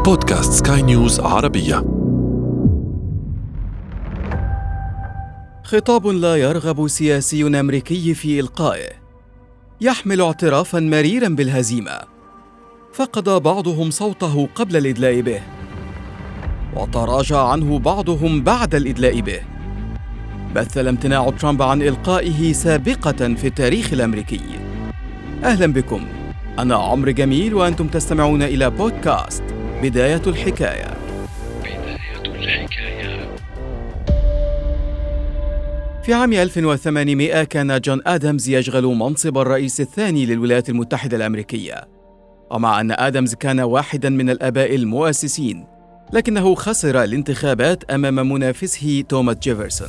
بودكاست سكاي نيوز عربية. خطاب لا يرغب سياسي أمريكي في إلقائه، يحمل اعترافاً مريراً بالهزيمة، فقد بعضهم صوته قبل الإدلاء به، وتراجع عنه بعضهم بعد الإدلاء به. مثل امتناع ترامب عن إلقائه سابقة في التاريخ الأمريكي. أهلاً بكم، أنا عمرو جميل وأنتم تستمعون إلى بودكاست بداية الحكاية. في عام 1800 كان جون آدمز يشغل منصب الرئيس الثاني للولايات المتحدة الأمريكية. ومع أن آدمز كان واحداً من الآباء المؤسسين، لكنه خسر الانتخابات أمام منافسه توماس جيفرسون.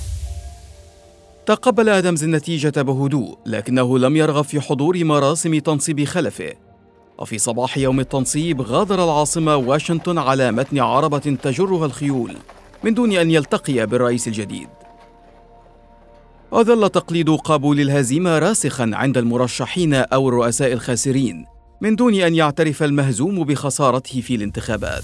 تقبل آدمز النتيجة بهدوء، لكنه لم يرغب في حضور مراسم تنصيب خلفه. وفي صباح يوم التنصيب غادر العاصمة واشنطن على متن عربة تجرها الخيول من دون أن يلتقي بالرئيس الجديد. وظل تقليد قبول الهزيمة راسخاً عند المرشحين أو الرؤساء الخاسرين من دون أن يعترف المهزوم بخسارته في الانتخابات.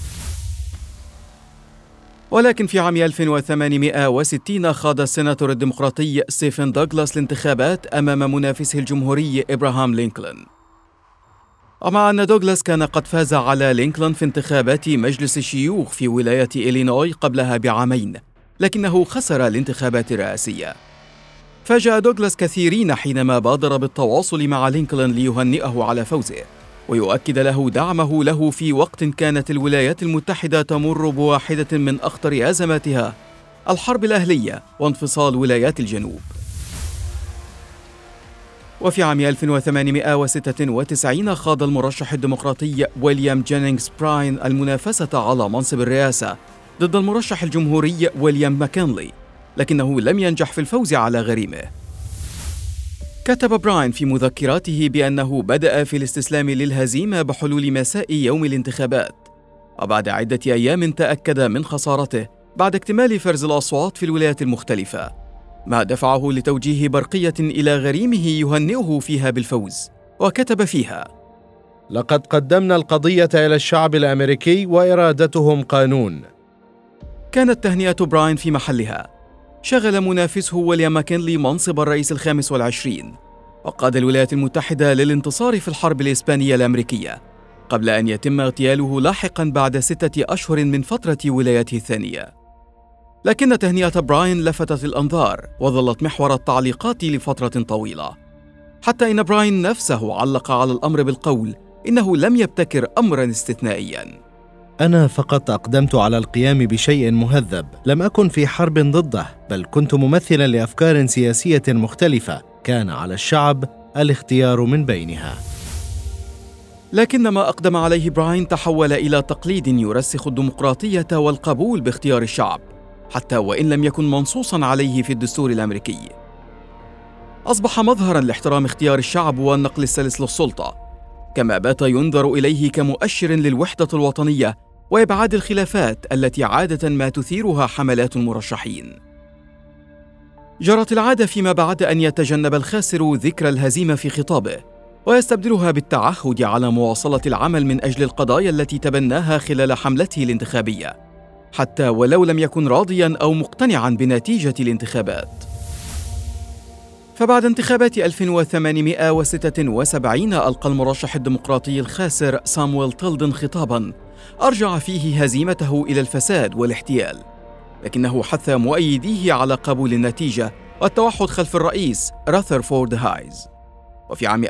ولكن في عام 1860 خاض السيناتور الديمقراطي ستيفن دوغلاس الانتخابات أمام منافسه الجمهوري إبراهام لينكولن. ومع أن دوغلاس كان قد فاز على لينكولن في انتخابات مجلس الشيوخ في ولاية إلينوي قبلها بعامين، لكنه خسر الانتخابات الرئاسية. فاجأ دوغلاس كثيرين حينما بادر بالتواصل مع لينكولن ليهنئه على فوزه ويؤكد له دعمه له في وقت كانت الولايات المتحدة تمر بواحدة من أخطر أزماتها، الحرب الأهلية وانفصال ولايات الجنوب. وفي عام 1896 خاض المرشح الديمقراطي ويليام جينينغز براين المنافسة على منصب الرئاسة ضد المرشح الجمهوري ويليام ماكنلي، لكنه لم ينجح في الفوز على غريمه. كتب براين في مذكراته بأنه بدأ في الاستسلام للهزيمة بحلول مساء يوم الانتخابات، وبعد عدة أيام تأكد من خسارته بعد اكتمال فرز الأصوات في الولايات المختلفة، ما دفعه لتوجيه برقية إلى غريمه يهنئه فيها بالفوز، وكتب فيها: لقد قدمنا القضية إلى الشعب الأمريكي وإرادتهم قانون. كانت تهنئة براين في محلها. شغل منافسه ويليام ماكنلي منصب الرئيس ال25، وقاد الولايات المتحدة للانتصار في الحرب الإسبانية الأمريكية قبل أن يتم اغتياله لاحقاً بعد 6 أشهر من فترة ولايته الثانية. لكن تهنئة براين لفتت الأنظار وظلت محور التعليقات لفترة طويلة، حتى إن براين نفسه علق على الأمر بالقول إنه لم يبتكر أمراً استثنائياً. أنا فقط أقدمت على القيام بشيء مهذب، لم أكن في حرب ضده، بل كنت ممثلاً لأفكار سياسية مختلفة، كان على الشعب الاختيار من بينها. لكن ما أقدم عليه براين تحول إلى تقليد يرسخ الديمقراطية والقبول باختيار الشعب، حتى وإن لم يكن منصوصاً عليه في الدستور الأمريكي. أصبح مظهراً لاحترام اختيار الشعب والنقل السلس للسلطة، كما بات ينظر إليه كمؤشر للوحدة الوطنية وإبعاد الخلافات التي عادة ما تثيرها حملات المرشحين. جرت العادة فيما بعد أن يتجنب الخاسر ذكر الهزيمة في خطابه ويستبدلها بالتعهد على مواصلة العمل من أجل القضايا التي تبناها خلال حملته الانتخابية، حتى ولو لم يكن راضياً أو مقتنعاً بنتيجة الانتخابات. فبعد انتخابات 1876 ألقى المرشح الديمقراطي الخاسر سامويل تيلدن خطاباً أرجع فيه هزيمته إلى الفساد والاحتيال، لكنه حث مؤيديه على قبول النتيجة والتوحد خلف الرئيس راذرفورد هايز. وفي عام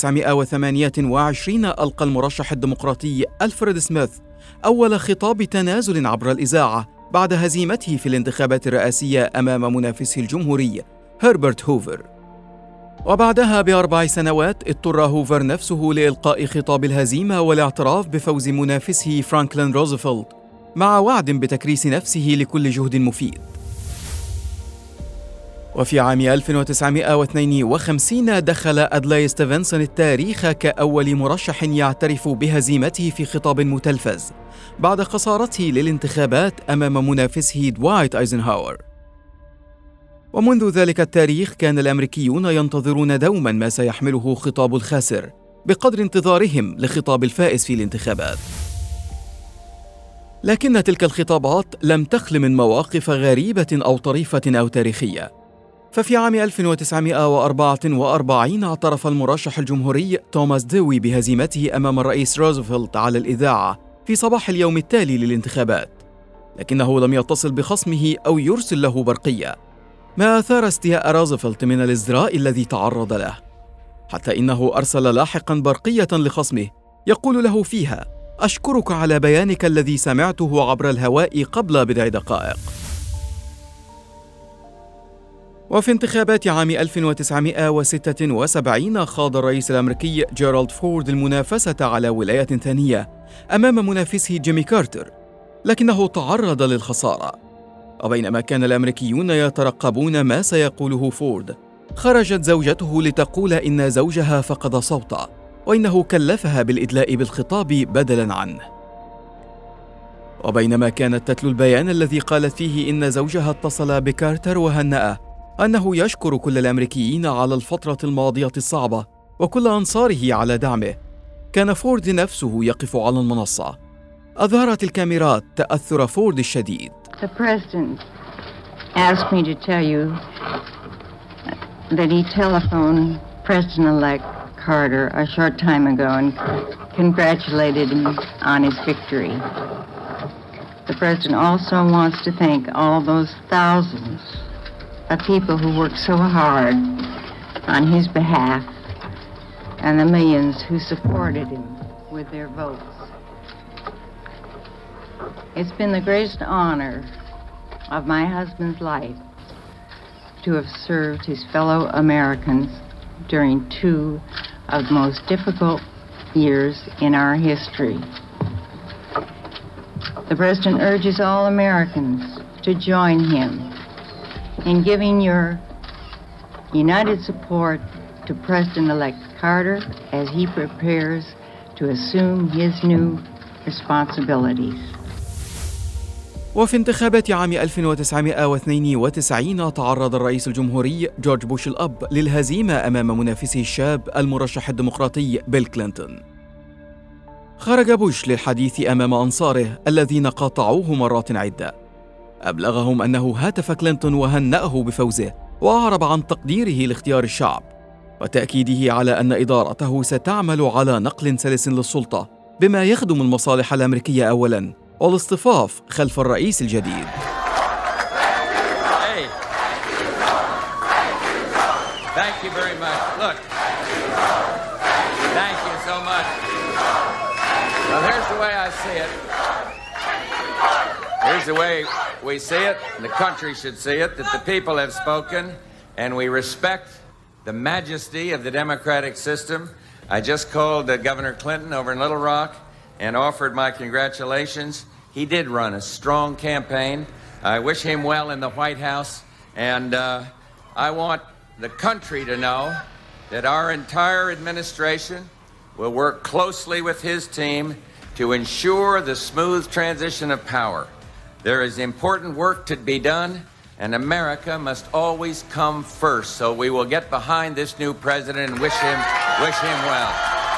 1928 ألقى المرشح الديمقراطي ألفريد سميث أول خطاب تنازل عبر الإذاعة بعد هزيمته في الانتخابات الرئاسية أمام منافسه الجمهوري هربرت هوفر. وبعدها ب4 سنوات اضطر هوفر نفسه لإلقاء خطاب الهزيمة والاعتراف بفوز منافسه فرانكلين روزفلت، مع وعد بتكريس نفسه لكل جهد مفيد. وفي عام 1952 دخل أدلاي ستيفنسون التاريخ كأول مرشح يعترف بهزيمته في خطاب متلفز بعد خسارته للانتخابات أمام منافسه دوايت أيزنهاور. ومنذ ذلك التاريخ كان الأمريكيون ينتظرون دوما ما سيحمله خطاب الخاسر بقدر انتظارهم لخطاب الفائز في الانتخابات. لكن تلك الخطابات لم تخل من مواقف غريبة أو طريفة أو تاريخية. ففي عام 1944 اعترف المرشح الجمهوري توماس ديوي بهزيمته أمام الرئيس روزفلت على الإذاعة في صباح اليوم التالي للانتخابات، لكنه لم يتصل بخصمه أو يرسل له برقية، ما أثار استياء روزفلت من الازدراء الذي تعرض له، حتى إنه أرسل لاحقاً برقية لخصمه يقول له فيها: أشكرك على بيانك الذي سمعته عبر الهواء قبل بضع دقائق. وفي انتخابات عام 1976 خاض الرئيس الأمريكي جيرالد فورد المنافسة على ولاية ثانية أمام منافسه جيمي كارتر، لكنه تعرض للخسارة. وبينما كان الأمريكيون يترقبون ما سيقوله فورد، خرجت زوجته لتقول إن زوجها فقد صوته وإنه كلفها بالإدلاء بالخطاب بدلاً عنه. وبينما كانت تتلو البيان الذي قالت فيه إن زوجها اتصل بكارتر وهنأه أنه يشكر كل الأمريكيين على الفترة الماضية الصعبة وكل أنصاره على دعمه، كان فورد نفسه يقف على المنصة. أظهرت الكاميرات تأثر فورد الشديد. The president asked me to tell you that he telephoned President-elect Carter a short time ago and congratulated him on his victory. The president also wants to thank all those thousands of people who worked so hard on his behalf and the millions who supported him with their votes. It's been the greatest honor of my husband's life to have served his fellow Americans during two of the most difficult years in our history. The President urges all Americans to join him in giving your united support to President-elect Carter as he prepares to assume his new responsibilities. وفي انتخابات عام 1992 تعرض الرئيس الجمهوري جورج بوش الأب للهزيمة أمام منافسه الشاب المرشح الديمقراطي بيل كلينتون. خرج بوش للحديث أمام أنصاره الذين قاطعوه مرات عدة، أبلغهم أنه هاتف كلينتون وهنأه بفوزه وأعرب عن تقديره لاختيار الشعب وتأكيده على أن إدارته ستعمل على نقل سلس للسلطة بما يخدم المصالح الأمريكية أولاً والاصطفاف خلف الرئيس الجديد. Thank you very much. Look, thank you so much. Well, here's the way I see it. Here's the way we see it, and the country should see it, that the people have spoken, and we respect the majesty of the democratic system. I just called Governor Clinton over in Little Rock and offered my congratulations. He did run a strong campaign. I wish him well in the White House, and I want the country to know that our entire administration will work closely with his team to ensure the smooth transition of power. There is important work to be done, and America must always come first. So we will get behind this new president and wish him well.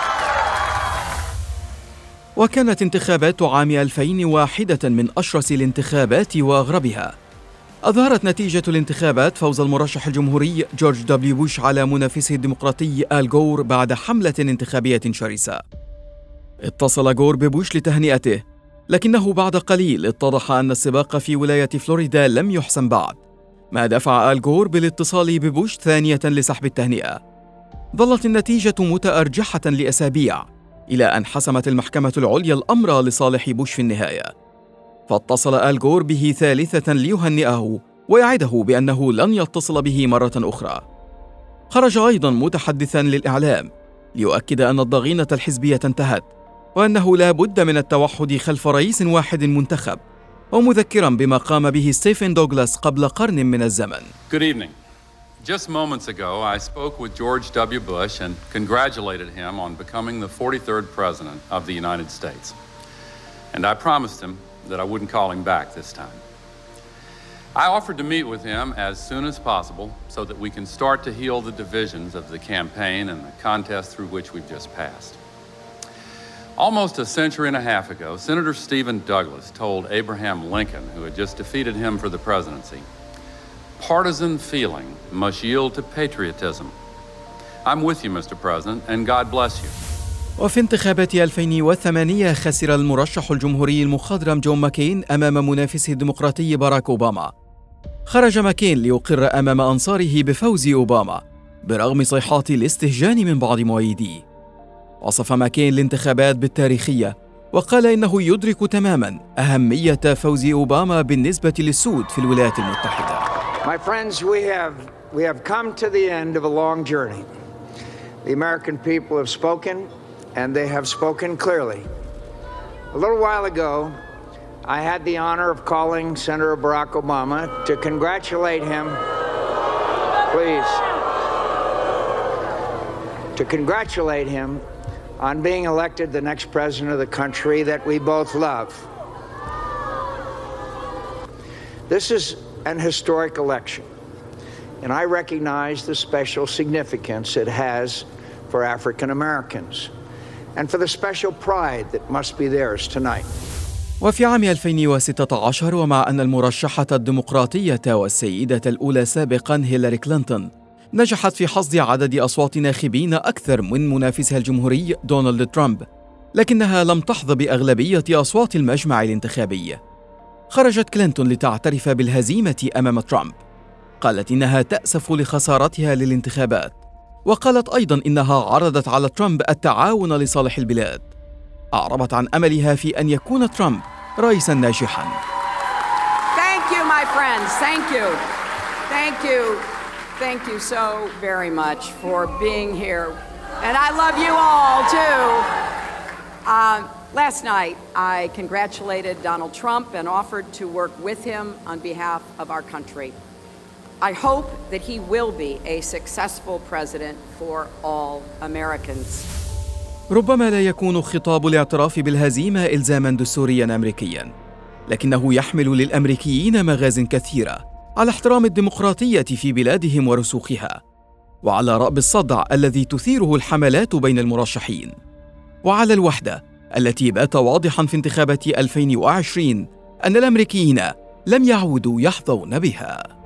وكانت انتخابات عام 2000 واحدة من أشرس الانتخابات وأغربها. أظهرت نتيجة الانتخابات فوز المرشح الجمهوري جورج دبليو بوش على منافسه الديمقراطي آل غور بعد حملة انتخابية شرسة. اتصل غور ببوش لتهنئته، لكنه بعد قليل اتضح أن السباق في ولاية فلوريدا لم يحسم بعد، ما دفع آل غور بالاتصال ببوش ثانية لسحب التهنئة. ظلت النتيجة متأرجحة لأسابيع إلى أن حسمت المحكمة العليا الأمر لصالح بوش في النهاية، فاتصل آل غور به ثالثة ليهنئه ويعده بأنه لن يتصل به مرة أخرى. خرج أيضا متحدثا للإعلام ليؤكد أن الضغينة الحزبية انتهت وأنه لا بد من التوحد خلف رئيس واحد منتخب، ومذكرا بما قام به ستيفن دوغلاس قبل قرن من الزمن. Good evening. Just moments ago, I spoke with George W. Bush and congratulated him on becoming the 43rd President of the United States. And I promised him that I wouldn't call him back this time. I offered to meet with him as soon as possible so that we can start to heal the divisions of the campaign and the contest through which we've just passed. Almost a century and a half ago, Senator Stephen Douglas told Abraham Lincoln, who had just defeated him for the presidency, "Partisan feeling must yield to patriotism." I'm with you, Mr. President, and God bless you. وفي انتخابات 2008 خسر المرشح الجمهوري المخضرم جون ماكين أمام منافسه الديمقراطي باراك أوباما. خرج ماكين ليقر أمام أنصاره بفوز أوباما برغم صيحات الاستهجان من بعض مؤيديه. وصف ماكين الانتخابات بالتاريخية وقال إنه يدرك تماماً أهمية فوز أوباما بالنسبة للسود في الولايات المتحدة. My friends, we have come to the end of a long journey. The American people have spoken, and they have spoken clearly. A little while ago, I had the honor of calling Senator Barack Obama to congratulate him, please, to congratulate him on being elected the next president of the country that we both love. This is an historic election, and I recognize the special significance it has for African Americans and for the special pride that must be theirs tonight. وفي عام 2016 ومع أن المرشحة الديمقراطية والسيدة الأولى سابقاً هيلاري كلينتون نجحت في حصد عدد أصوات ناخبين أكثر من منافسها الجمهوري دونالد ترامب، لكنها لم تحظى بأغلبية أصوات المجمع الانتخابي. خرجت كلينتون لتعترف بالهزيمة أمام ترامب. قالت إنها تأسف لخسارتها للانتخابات، وقالت أيضاً إنها عرضت على ترامب التعاون لصالح البلاد. أعربت عن أملها في أن يكون ترامب رئيساً ناجحاً. Thank you, my friends. Thank you. Thank you. Thank you so very much for being here. And I love you all, too. Last night, I congratulated Donald Trump and offered to work with him on behalf of our country. I hope that he will be a successful president for all Americans. ربما لا يكون خطاب الاعتراف بالهزيمة إلزاماً دستورياً أمريكياً، لكنه يحمل للأمريكيين مغازٍ كثيرة على احترام الديمقراطية في بلادهم ورسوخها، وعلى رأب الصدع الذي تثيره الحملات بين المرشحين، وعلى الوحدة التي بات واضحاً في انتخابات 2020 أن الأمريكيين لم يعودوا يحظون بها.